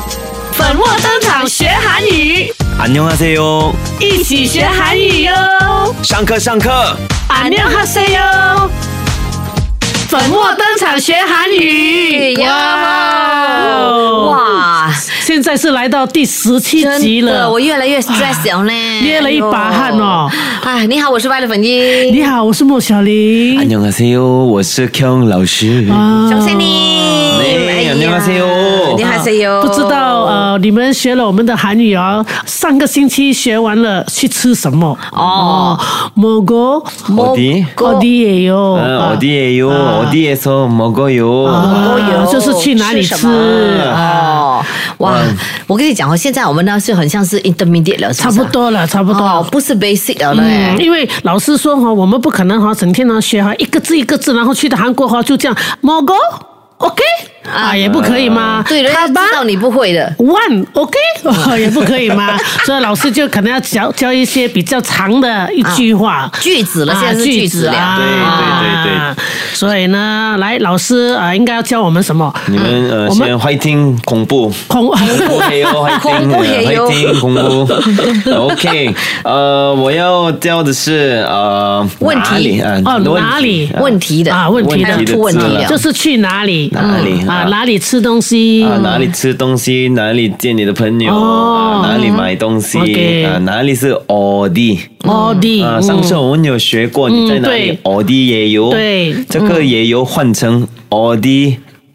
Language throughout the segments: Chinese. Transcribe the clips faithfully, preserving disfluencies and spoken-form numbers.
粉墨登场学韩语， 안녕하세요， 一起学韩语哟！ 上课上课， 안녕하세요， 粉墨登场学韩语， 哇哇！ 现在是来到第十七集了， 我越来越 stress 了呢， 捏了一把汗哦。 哎，你好，我是外的粉英。 你好，我是莫小玲。 안녕하세요， 我是 Kyung 老师。 恭喜你！ 哎 안녕하세요， 안녕하세요。 不知道呃，你们学了我们的韩语哦，上个星期学完了，去吃什么？ 哦， 먹어 어디? 어디예요? 아, 어디예요? 아. 어디에서 먹어요? 아, 就是去哪里吃哦，哇！我跟你讲哦，现在我们呢是很像是 intermediate 了，是不是差不多了，差不多， 哦，不是 basic 了嘞。 嗯，因为老师说哈，我们不可能哈整天呢学哈一个字一个字，然后去到韩国哈就这样 먹어 OK 啊，也不可以吗？ 对，人家知道你不会的。 One OK 也不可以吗？所以老师就可能要教教一些比较长的一句话、 句子了，现在是句子了。 对对对对。 所以呢，来老师啊，应该要教我们什么？ 你们呃，先 fighting 恐怖， 恐怖黑哦 ，fighting 恐怖 ，OK， 呃，我要教的是呃问题啊， 哦哪里问题的啊问题的出问题了， 就是去哪里哪里啊哪里吃东西啊哪里吃东西哪里见你的朋友啊哪里买东西啊哪里是어디 어디 啊上次我们有学过你在哪里어디예요 对这个也有换成어디에서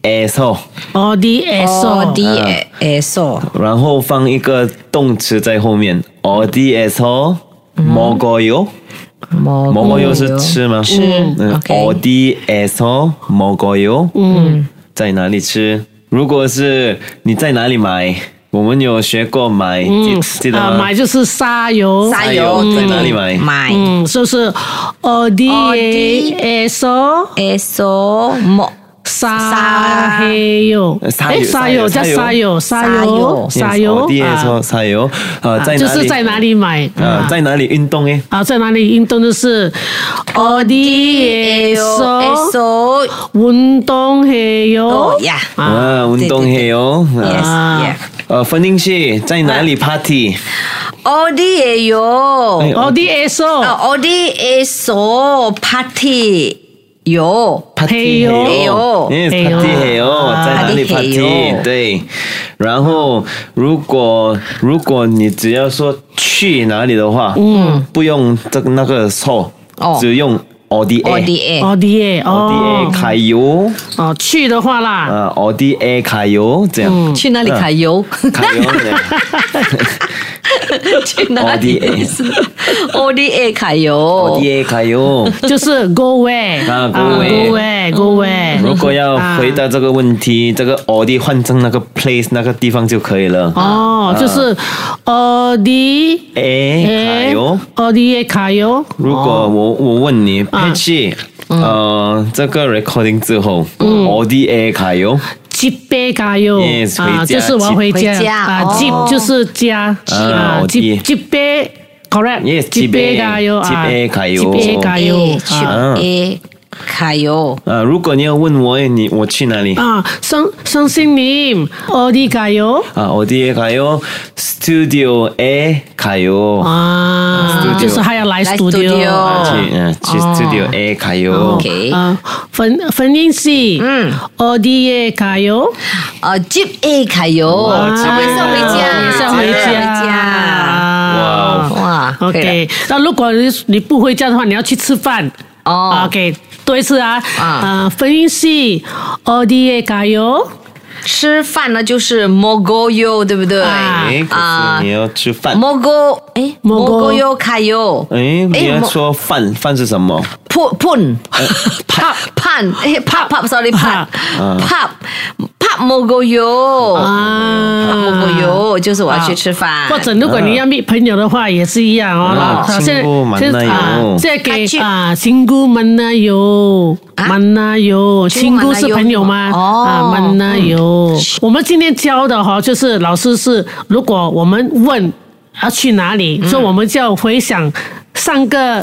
어디에서 어디에서 然后放一个动词在后面어디에서 먹어요 먹어요是吃吗？ 吃。 嗯 어디에서 먹어요？ 嗯，在哪里吃？如果是你在哪里买？我们有学过买， 嗯， 记得吗？ 买就是沙油， 沙油在哪里买？ 买， 嗯，就是 어디에서 에서 뭐 사해요， 哎，沙油叫沙油，沙油，沙油， 어디에서 사요？ 啊，在哪里？ 就是在哪里买啊，在哪里运动诶？ 啊，在哪里运动就是 어디에서 운동해요？ 呀， 啊，运动해요。 yes， 呃，分音系在哪里 party？ 어디에요？ 어디에서 어디에서 party？ 有 party 해요， yes party 해요， 在哪里 party？ 对，然后如果如果你只要说去哪里的话，嗯，不用这个那个so，只用어디에 어디에 어디에 어디에 가요？ 哦，去的话啦， 啊어디에 가요？ 这样去哪里揩油？ 가요？ 去哪里？어디에 가요？ 어디에 가요？ 就是 go where 啊 go go where where go where。 如果要回答这个问题，这个 어디换成那个 place 那个地方就可以了。 哦，就是 어디에 가요？ 어디에 가요？ 如果我我问你，佩奇，呃，这个 recording 之后，어디에 가요？ 집에 가요， yes， 啊，就是我要回家啊，집就是家啊，집 집에 correct， 집에 가요， 집에 가요， 집에 가요， 집에 가요。 啊，如果你要问我，你我去哪里？ 啊，선선생님 어디 가요？ 啊，어디에 가요？Studio에 가요。 啊，就是还要来 studio， 去嗯去 studio에 가요。 OK， 啊，粉粉英系，嗯，어디에 가요？ 呃 ，집에 가요， 啊， 是回家， 是回家， 哇哇 ，OK，那如果你你不回家的话，你要去吃饭。 哦 ，OK， 多一次啊，啊，分音系어디에 가요？ 吃饭呢就是 먹어요， 对不对？ 哎，可是你要吃饭。 먹어， 哎 ，먹어요 가요。 哎，你要说饭，饭是什么？ 푼， 팝， 판， 哎，팝 팝，sorry 팝， 팝， 팝 먹어요， 啊 팝 먹어요， 就是我要去吃饭。 或者如果你要meet朋友的话，也是一样哦。现在现在啊，现在给啊，친구 만나요， 만나요， 친구是朋友吗？啊，만나요。我们今天教的哈，就是老师是，如果我们问要去哪里，所以我们就要回想上个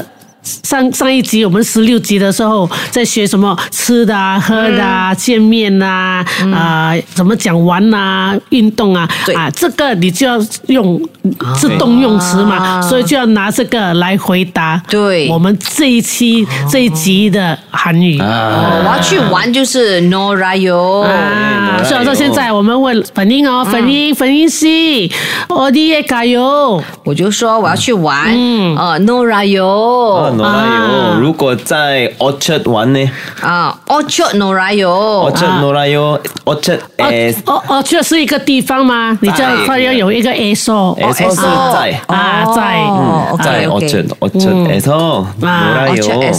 上上一集我们十六集的时候在学什么吃的啊、喝的啊、嗯、见面啊、嗯、啊怎么讲玩啊、运动啊啊，这个你就要用是动用词嘛、啊，所以就要拿这个来回答。对，我们这一期、哦、这一集的韩语。 啊、我要去玩就是 Norayo 啊，所以说现在我们问粉英哦，粉英粉英是我的也加油， 我就说我要去玩，嗯，呃 Norayo。 Norayo， 如果在 Orchard 玩呢？ 啊 ，Orchard Norayo，Orchard Norayo，Orchard S，Orchard 是一个地方吗？你叫它要有一个 S，S 是在啊，在在 Orchard，Orchard S，Norayo，Orchard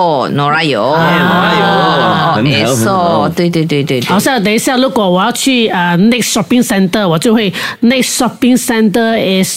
S，Norayo，Norayo，对对对对。 好像等一下，如果我要去啊 Next Shopping Center， 我就会 Next Shopping Center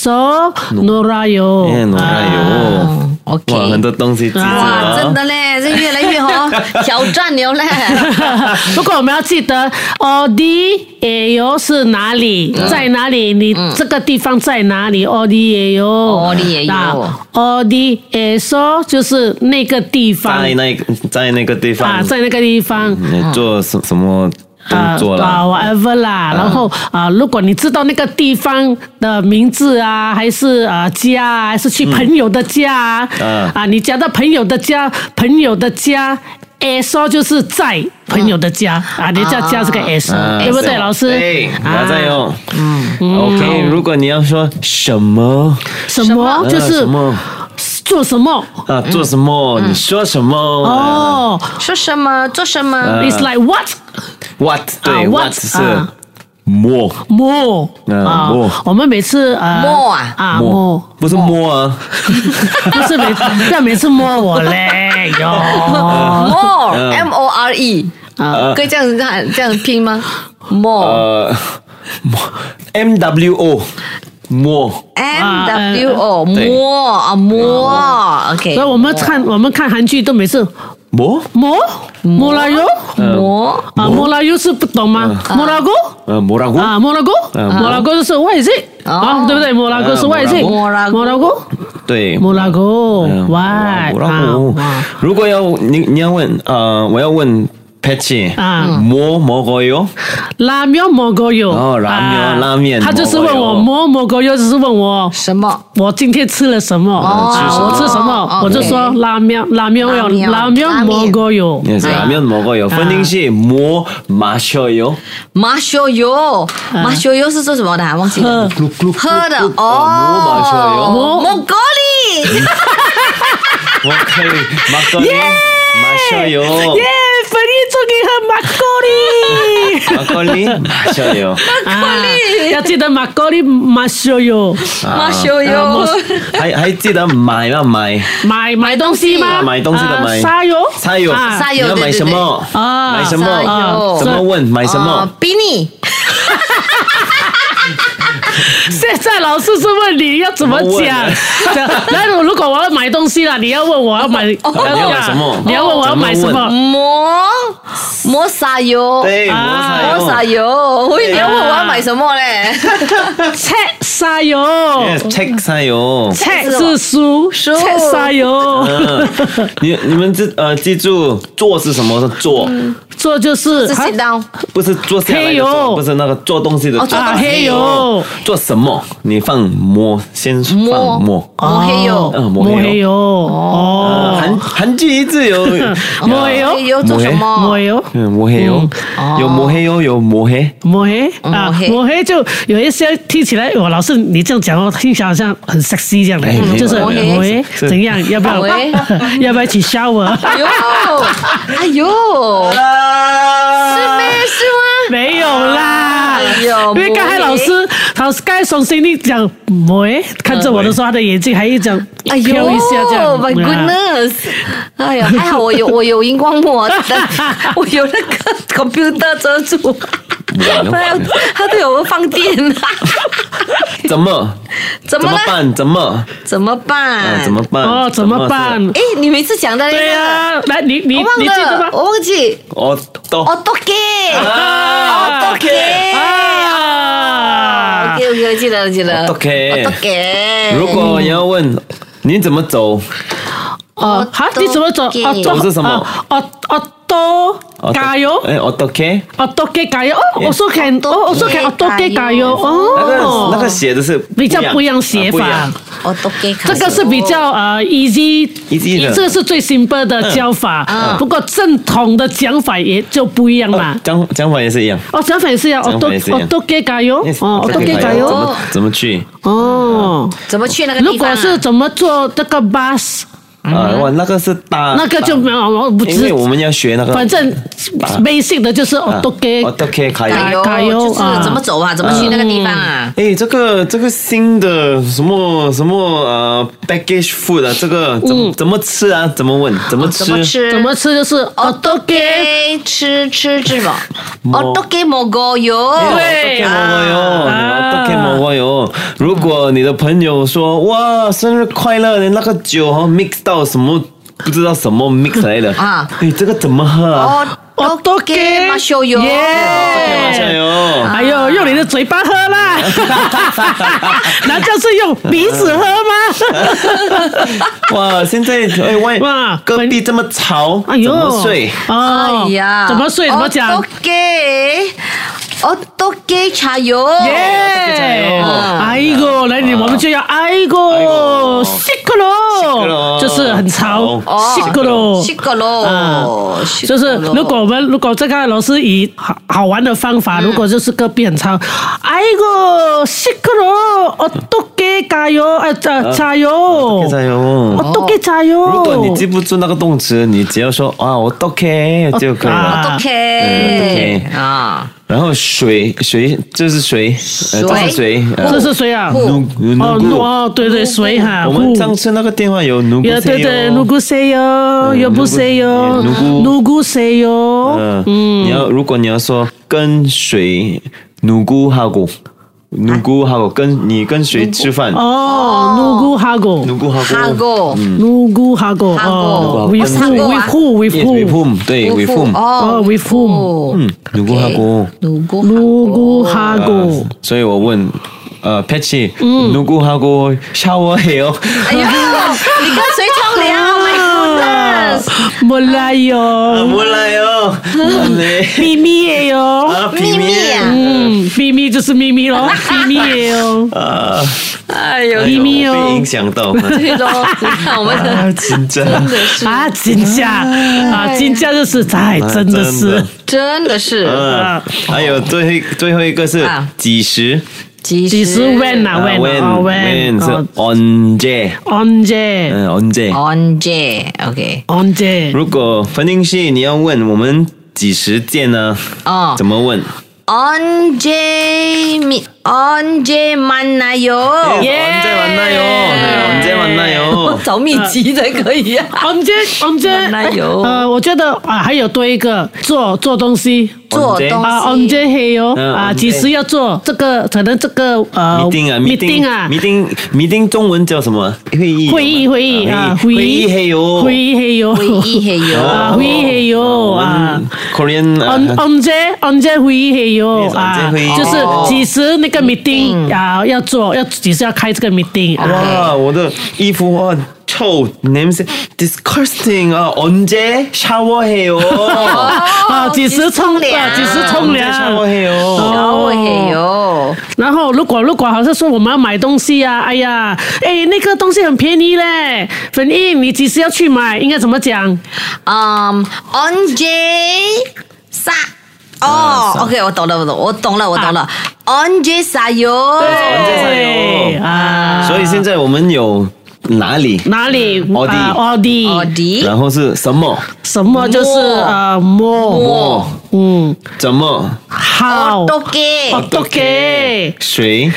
S，Norayo，Norayo。 OK， 很多东西记住哇，真的嘞，这越来越好挑战了嘞。 如果我们要记得 Odi Ayo 是哪里，嗯、在哪里？你这个地方在哪里 ？Odi Ayo，Odi Ayo，Odi Ayo 就是那个地方， 在那在那个地方啊，在那个地方， 你做什什么？动作啦、 啊、whatever 啦，然后啊，如果你知道那个地方的名字啊，还是啊家啊，还是去朋友的家啊，嗯、啊，你讲到朋友的家，朋友的家 ，S 就是在朋友的家啊，你叫家是个 S，、啊、对不对，老师？ 对，不要再用。嗯 ，OK， 如果你要说什么什么，就是什么。做什么啊？做什么？嗯、你说什么？ 哦，说什么？做什么、 uh, ？It's like what? What？ 对、uh, ，What 是 more more 啊 more。 我们每次呃 more 啊啊 more 不是摸啊， 不是每不要每次摸我嘞哟 more M O R E 啊，可以这样这样这样拼吗 ？more 呃 M W O。摸 M W O 摸啊摸 ，OK。 所以我们看我们看韩剧都每次摸摸摸拉油摸啊摸拉油是不懂吗？摸拉锅呃摸拉锅啊摸拉锅摸拉锅就是外籍啊对不对？摸拉锅是外籍摸拉摸拉锅对摸拉锅外啊。如果要你你要问呃我要问。Patchy 啊，뭐 먹어요？ 拉面먹어요。 哦，拉面，拉面。 他就是问我뭐 먹어요，就是问我什么？ 我今天吃了什么？哦，我吃什么？我就说拉面，拉面有拉面먹어요。 拉面먹어요。分定是뭐 마셔요。마셔요，마셔요是做什么的？忘记了。喝的哦。 뭐 마셔요。막걸리。 我可以막걸리。마셔요。 耶，粉一终于喝 막걸리。막걸리 마셔요。 막걸리要记得 막걸리 마셔요。 마셔요。 还还记得买吗？买买买东西吗？ 买东西的买。 사요。 사요。 사요。 你要买什么？啊，买什么？怎么问？买什么？ 比你。 现在老师是问你要怎么讲？来，如果我要买东西了，你要问我要买， 你要买什么？ 你要问我要买什么？ 磨磨砂油， 对， 磨砂油。我以为你要问我要买什么嘞 ？책砂油 ，책砂油 ，책是书，书책砂油。 你你们记呃记住做是什么？是做， 做就是是 sit down， 不是坐下来的做，不是那个做东西的做。 啊，黑油。 做什么？你放摸，先放摸。 摸黑油， 摸黑油。哦， 韩韩剧一直有摸黑油做什么？ 摸黑油， 嗯，摸黑油，有摸黑油，有摸黑。 摸黑啊，摸黑就有一些听起来，我老师你这样讲哦，听起来好像很 sexy 这样的，就是摸黑怎样？要不要？要不要一起 shower？ 哎呦，哎呦，是吗？是吗？ 没有啦，因为刚才老师，老师刚才从心里讲，喂，看着我的时候，他的眼睛还一讲飘一下这样。 My goodness！ 哎呀，还好我有我有荧光幕，我有那个 computer 遮住，他都有放电啊。 怎么？ 怎么办？怎么？ 怎么办？ 怎么办？ 哦，怎么办？ 哎，你每次讲的那个， 对呀，来，你你你记得吗？我忘记。 哦，都。 哦，都给。哦，都给。啊 ！OK OK， 记得记得。 都给。 都给。 如果你要问你怎么走？ 哦，好，你怎么走？哦， 走是什么？ 哦哦。多加油！ 哎，我都 K， 我都 K 加油！哦，我说看，哦，我说看，我都 K 加油！哦， 那个那个写的是比较不一样写法。 我都 K， 这个是比较呃 easy，easy 的，这个是最 simple 的教法。不过正统的讲法也就不一样嘛。 讲讲法也是一样。 哦，讲法也是一样。我都我都 K 加油！哦，我都 K 加油！ 怎么怎么去？ 哦， 怎么去那个地方？ 如果是怎么坐这个 bus？ 啊，哇，那个是大， 那个就没有，我不知， 因为我们要学那个， 反正 basic 的就是 auto-K，auto-K 加油，加油，就是怎么走啊，怎么去那个地方啊？ 哎，这个这个新的什么什么呃 package food 啊，这个怎么怎么吃啊？怎么问？怎么吃？ 怎么吃就是 auto-K 吃吃吃嘛 ，auto-K 먹어요， 对 ，auto-K 먹어요，auto-K 먹어요。如果你的朋友说哇生日快乐，那个酒哦 mix 到。到什么不知道什么 mix 来的啊？哎，这个怎么喝啊？ 我都给马修油， 耶！ 哎呦，用你的嘴巴喝啦！难道是用鼻子喝吗？ 哇，现在哎喂，哇，隔壁这么吵，怎么睡？ 哎呀，怎么睡？怎么讲？ 我都给。我都给茶油， 耶！哎呦，来你我们就要哎呦，西克罗，就是很吵，西克罗， 西克罗， 就是如果我们如果这个老师以好好玩的方法，如果就是隔壁很吵，哎呦，西克罗，我都给加油，哎，加油， 加油， 我都给加油。 如果你记不住那个动词，你只要说啊，我都给就可以了， 我都给啊。 然后水水这是水，呃，这是水， 这是水啊？ 努努哦，对对，水哈。 我们上次那个电话有努古塞哟， 对对，努古塞哟，有不塞哟，努古努古塞哟。 嗯，你要如果你要说跟水努古哈古。努古哈古跟你跟谁吃饭？ 哦，努古哈古， 努古哈古， 努古哈古，哦 ，with who，with who，with who，with whom，对 ，with whom， 哦 ，with whom， 嗯，努古哈古， 努古努古哈古， 所以我问，呃 ，Patchy，努古哈古 shower 해요？ 哎呦，你跟谁冲凉？ 몰라요， 몰라요， 秘密예요， 秘密啊， 嗯，秘密就是秘密咯，秘密예요，啊， 哎呦， 秘密哦， 被影响到， 对咯，你看我们的真的是啊，真假啊，真假就是在，真的是， 真的是， 啊，还有最后最后一个是几时。 几时 when 啊 when when 是 언제 언제 嗯 언제 언제 OK 언제 如果冯定熙你要问我们几时见呢？哦，怎么问 언제 미 언제 만나요? 예. 언제 만나요? 네, 언제 만나요? 找秘籍才可以啊。 언제 언제 만나요? 呃，我觉得啊，还有多一个做做东西， 做东西啊，언제 해요？啊，几时要做这个？可能这个呃 meeting 啊 meeting 啊 meeting meeting 中文叫什么？会议会议会议啊会议 해요 会议 해요 会议 해요 啊会议 해요 啊 Korean 언 언제 언제会议 해요 啊，就是几时那个 meeting 啊要做，要几时要开这个 meeting 哇，我的衣服哇臭，냄새 disgusting啊！언제 샤워해요？ 啊，几时冲凉？几时冲凉 ？샤워해요。 샤워해요。 然后如果如果好像说我们要买东西啊，哎呀，哎那个东西很便宜嘞，粉印你几时要去买？应该怎么讲？ 嗯 언제 사哦 ，OK， 我懂了，我懂，我懂了，我懂了。언제 사요？ 对 언제 사요？ 啊，所以现在我们有。哪里？ 哪里？ 奥迪， 奥迪， 奥迪。 然后是什么？ 什么就是呃，么么，嗯，怎么？ 好 어떻게 어떻게 谁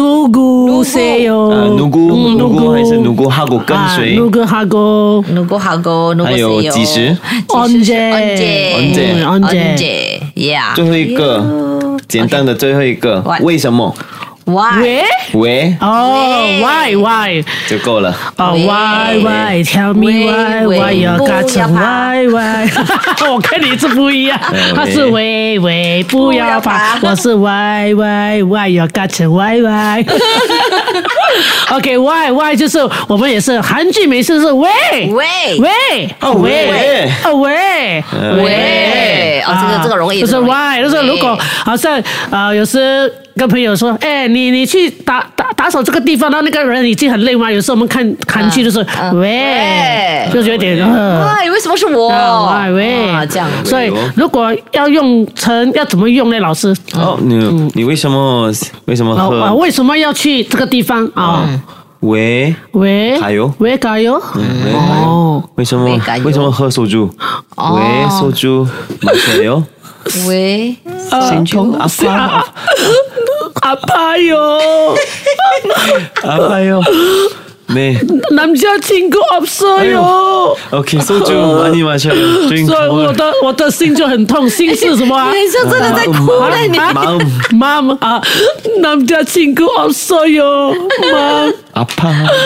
누구세요? 누구 누구 还是 누구하고 跟谁 누구하고 누구하고 누구세요? 还有几时 언제 언제 언제 언제 yeah 最后一个简单的最后一个为什么 Why？ 왜？ 왜？ 哦 ，Why Why 就够了。 哦 ，Why Why Tell me Why Why 要嘎成 Why Why？ 我跟你是不一样，他是喂喂不要怕，我是 Why Why Why 要嘎成 Why Why。 OK why why 就是我们也是韩剧每次是喂喂喂哦喂哦喂喂哦这个这个容易就是 why 就是如果好像啊有时跟朋友说哎你你去打打打扫这个地方，然后那个人已经很累嘛，有时候我们看韩剧就是喂就有点喂为什么是我喂这样， 所以如果要用成要怎么用呢？老师哦你你为什么为什么喝为什么要去这个地方啊？ 喂喂， 加油， 喂加油， 哦，为什么为什么喝soju？喂soju，马上油， 喂， 心痛阿爸， 阿爸哟， 阿爸哟。 네. 남자 친구 없어요. OK, 소주 많이 마셔요. 所以我的我的心就很痛，心是什么啊？ 你像真的在哭了，你 마음 마음 아 남자 친구 없어요. 마음 아파.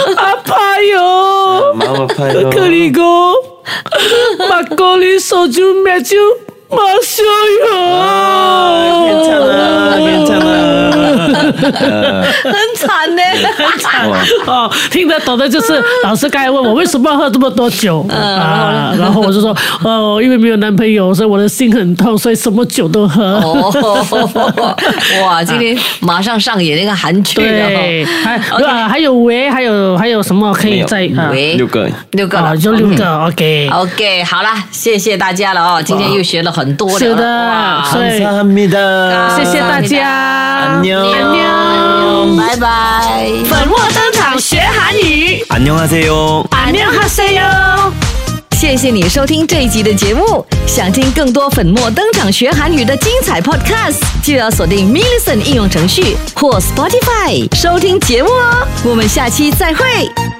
아파요. 마음 아파요. 그리고 막걸리 소주 맥주 마셔요. 아, 괜찮아, 괜찮아. 很惨呢，很惨哦，听得懂的就是老师刚才问我为什么要喝这么多酒啊，然后我就说哦，因为没有男朋友，所以我的心很痛，所以什么酒都喝。 哦，哇，今天马上上演那个韩剧了。 对，还啊还有喂，还有还有什么可以再啊？ 六个， 六个了， 就六个。OK OK， 好了，谢谢大家了哦，今天又学了很多了。 是的， 감사합니다。 谢谢大家， 安妞， 安妞， 拜拜。 粉墨登场学韩语， 안녕하세요， 안녕하세요。 谢谢你收听这一集的节目。想听更多粉墨登场学韩语的精彩 podcast， 就要锁定 Millicent 应用程序或 Spotify 收听节目哦。我们下期再会。